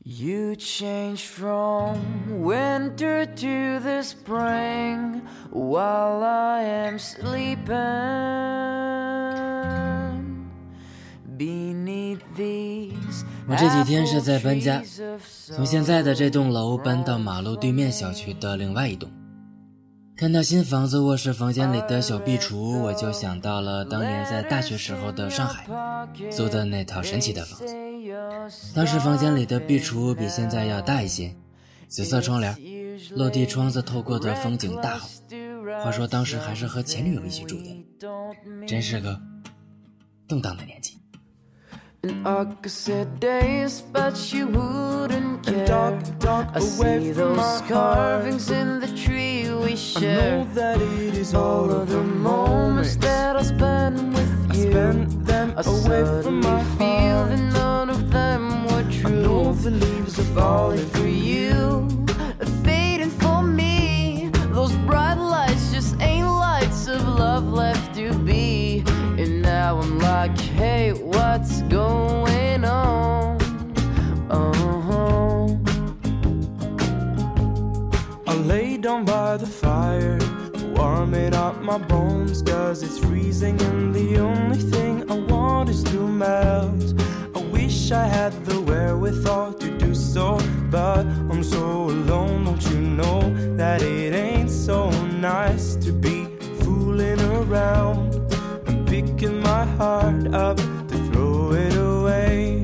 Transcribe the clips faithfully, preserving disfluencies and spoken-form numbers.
You change from winter to the spring while I am sleeping beneath these。 我这几天是在搬家，从现在的这栋楼搬到马路对面小区的另外一栋。看到新房子卧室房间里的小壁橱，我就想到了当年在大学时候的上海租的那套神奇的房子。当时房间里的壁橱比现在要大一些，紫色窗帘，落地窗子透过的风景大好。话说当时还是和前女友一起住的，真是个动荡的年纪。 And I could say days, but you wouldn't care. Dark, dark, I see those carvings in the tree we share. I know that it is all of the moments that I spend with you. I spend them I away from my feel that none of them were true. I know the leaves are falling for you, fading for me. Those bright lights just ain't lights of love left to be. And now I'm like, hey, what's going on? Uh-huh. I lay down by the fire, warming up my bones, cause it's freezing and the only thing I want is to melt. I wish I had the wherewithal to do so, but I'm so alone, don't you know that it ain't so nice to be fooling around, picking my heart up to throw it away.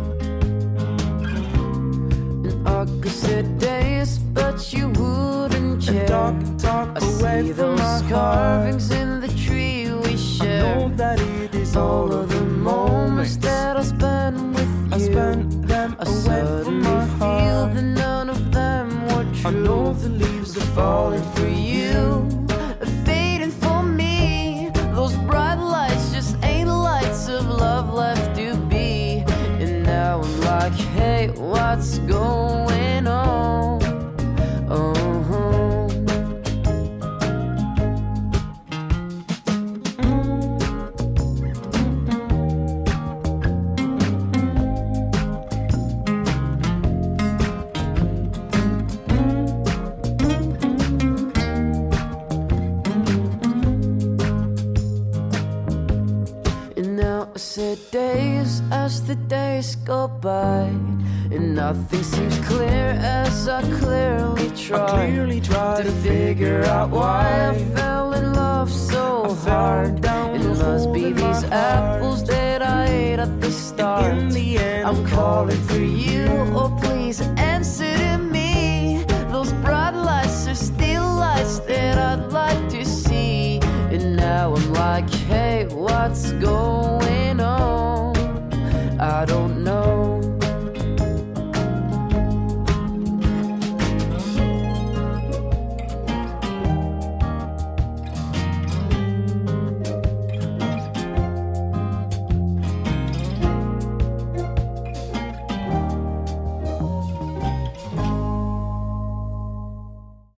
And I could sit days, but you wouldn't care. And talk, talk I away see from those my carvings heart. In the tree we share. I know that it is all of the moments that I spend with you. I spend them I away from my heart. Feel that none of them were true. I know the leaves are falling for you, fading for me. Those bright lights just ain't lights of love left to be. And now I'm like, hey, what's going on? Uh-huh. I said days as the days go by, and nothing seems clear as I clearly try, I clearly try to, to figure out why I fell in love so hard. It must be these apples that I ate at the start. In the end, I'm calling for you, oh please answer to me. Those bright lights are still lights that I'd like to see. And now I'm like, hey, what's going